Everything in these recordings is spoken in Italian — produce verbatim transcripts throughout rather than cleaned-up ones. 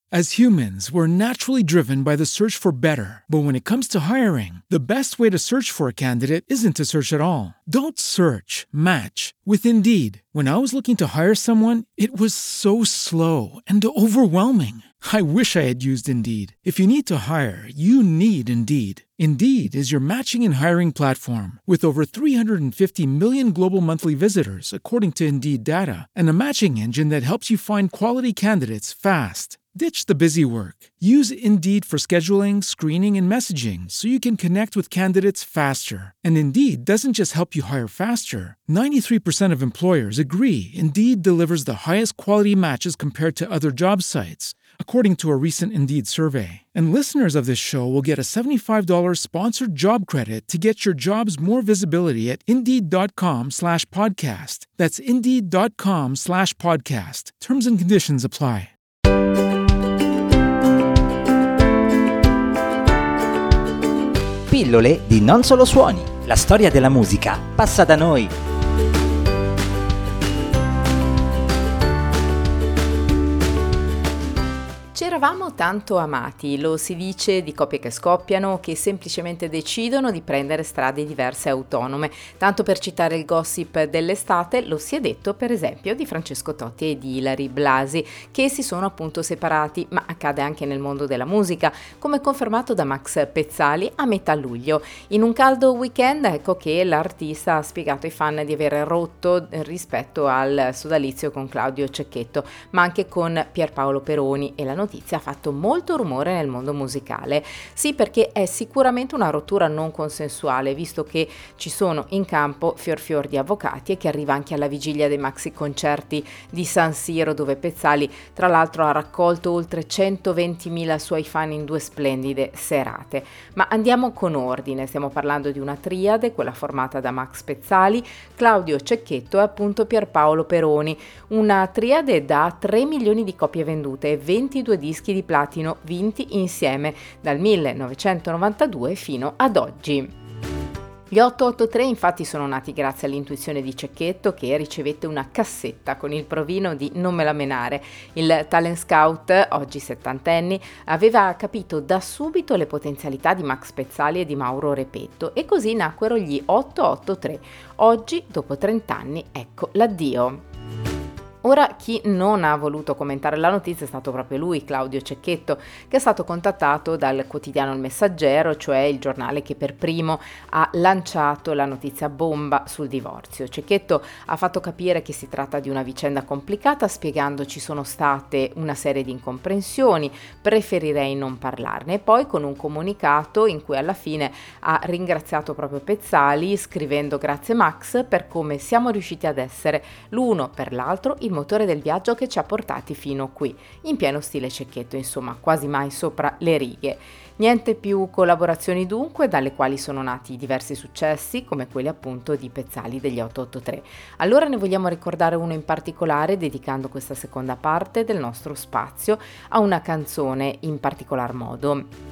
As humans, we're naturally driven by the search for better. But when it comes to hiring, the best way to search for a candidate isn't to search at all. Don't search, match with Indeed. When I was looking to hire someone, it was so slow and overwhelming. I wish I had used Indeed. If you need to hire, you need Indeed. Indeed is your matching and hiring platform with over three hundred fifty million global monthly visitors, according to Indeed data, and a matching engine that helps you find quality candidates fast. Ditch the busy work. Use Indeed for scheduling, screening, and messaging so you can connect with candidates faster. And Indeed doesn't just help you hire faster. ninety-three percent of employers agree Indeed delivers the highest quality matches compared to other job sites, according to a recent Indeed survey. And listeners of this show will get a seventy-five dollars sponsored job credit to get your jobs more visibility at Indeed.com slash podcast. That's Indeed.com slash podcast. Terms and conditions apply. Pillole di Non Solo Suoni. La storia della musica passa da noi. Ci eravamo tanto amati, lo si dice di coppie che scoppiano, che semplicemente decidono di prendere strade diverse e autonome. Tanto per citare il gossip dell'estate, lo si è detto per esempio di Francesco Totti e di Ilary Blasi, che si sono appunto separati, ma accade anche nel mondo della musica, come confermato da Max Pezzali a metà luglio. In un caldo weekend, ecco che l'artista ha spiegato ai fan di aver rotto rispetto al sodalizio con Claudio Cecchetto, ma anche con Pierpaolo Peroni, e la notizia ha fatto molto rumore nel mondo musicale. Sì, perché è sicuramente una rottura non consensuale, visto che ci sono in campo fior fior di avvocati, e che arriva anche alla vigilia dei maxi concerti di San Siro, dove Pezzali tra l'altro ha raccolto oltre centoventimila suoi fan in due splendide serate. Ma andiamo con ordine, stiamo parlando di una triade, quella formata da Max Pezzali, Claudio Cecchetto e appunto Pierpaolo Peroni, una triade da tre milioni di copie vendute e ventidue dischi di platino vinti insieme dal millenovecentonovantadue fino ad oggi. Gli otto otto tre infatti sono nati grazie all'intuizione di Cecchetto, che ricevette una cassetta con il provino di Non me la menare. Il talent scout, oggi settantenni, aveva capito da subito le potenzialità di Max Pezzali e di Mauro Repetto, e così nacquero gli otto otto tre. Oggi, dopo trent'anni, ecco l'addio. Ora, chi non ha voluto commentare la notizia è stato proprio lui, Claudio Cecchetto, che è stato contattato dal quotidiano Il Messaggero, cioè il giornale che per primo ha lanciato la notizia bomba sul divorzio. Cecchetto ha fatto capire che si tratta di una vicenda complicata, spiegando ci sono state una serie di incomprensioni, preferirei non parlarne, e poi con un comunicato in cui alla fine ha ringraziato proprio Pezzali, scrivendo: grazie Max per come siamo riusciti ad essere l'uno per l'altro il motore del viaggio che ci ha portati fino qui, in pieno stile Cecchetto, insomma, quasi mai sopra le righe. Niente più collaborazioni dunque, dalle quali sono nati diversi successi, come quelli appunto di Pezzali degli otto otto tre. Allora ne vogliamo ricordare uno in particolare, dedicando questa seconda parte del nostro spazio a una canzone in particolar modo.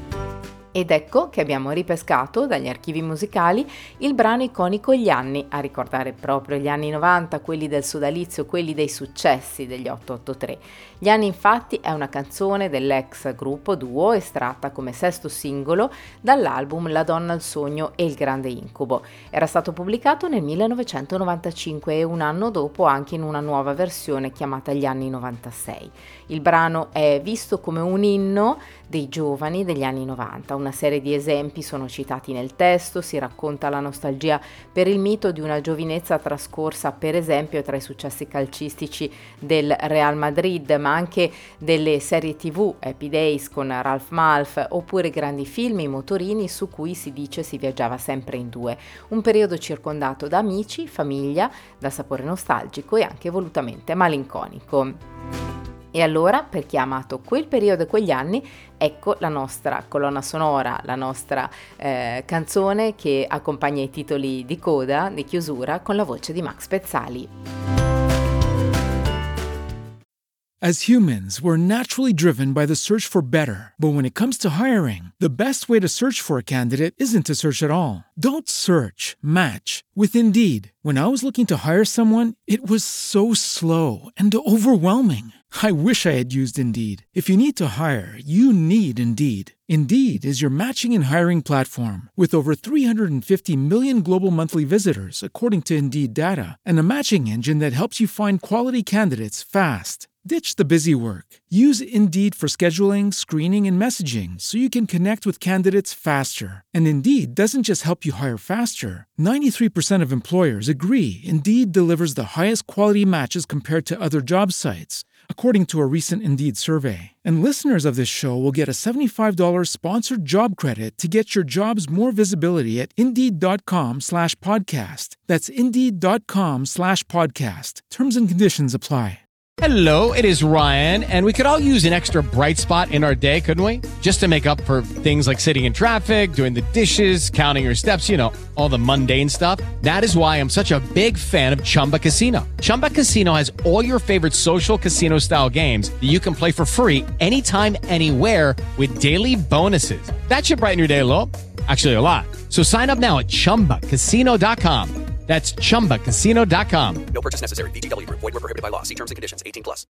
Ed ecco che abbiamo ripescato dagli archivi musicali il brano iconico Gli anni, a ricordare proprio gli anni novanta, quelli del sodalizio, quelli dei successi degli otto otto tre. Gli anni infatti è una canzone dell'ex gruppo Duo, estratta come sesto singolo dall'album La donna al sogno e il grande incubo. Era stato pubblicato nel millenovecentonovantacinque e un anno dopo anche in una nuova versione chiamata Gli anni novantasei. Il brano è visto come un inno dei giovani degli anni novanta. Una serie di esempi sono citati nel testo, si racconta la nostalgia per il mito di una giovinezza trascorsa per esempio tra i successi calcistici del Real Madrid, ma anche delle serie tv, Happy Days con Ralph Malph, oppure grandi film, I motorini, su cui si dice si viaggiava sempre in due. Un periodo circondato da amici, famiglia, da sapore nostalgico e anche volutamente malinconico. E allora, per chi ha amato quel periodo e quegli anni, ecco la nostra colonna sonora, la nostra eh, canzone che accompagna i titoli di coda, di chiusura, con la voce di Max Pezzali. As humans, we're naturally driven by the search for better. But when it comes to hiring, the best way to search for a candidate isn't to search at all. Don't search, match with Indeed. When I was looking to hire someone, it was so slow and overwhelming. I wish I had used Indeed. If you need to hire, you need Indeed. Indeed is your matching and hiring platform with over three hundred fifty million global monthly visitors, according to Indeed data, and a matching engine that helps you find quality candidates fast. Ditch the busy work. Use Indeed for scheduling, screening, and messaging so you can connect with candidates faster. And Indeed doesn't just help you hire faster. ninety-three percent of employers agree Indeed delivers the highest quality matches compared to other job sites, according to a recent Indeed survey. And listeners of this show will get a seventy-five dollars sponsored job credit to get your jobs more visibility at Indeed.com slash podcast. That's Indeed.com slash podcast. Terms and conditions apply. Hello, it is Ryan, and we could all use an extra bright spot in our day, couldn't we? Just to make up for things like sitting in traffic, doing the dishes, counting your steps, you know, all the mundane stuff. That is why I'm such a big fan of Chumba Casino. Chumba Casino has all your favorite social casino-style games that you can play for free anytime, anywhere with daily bonuses. That should brighten your day a little. Actually, a lot. So sign up now at Chumba Casino dot com. That's Chumba Casino dot com. No purchase necessary. V G W Group. Void where prohibited by law. See terms and conditions. eighteen plus.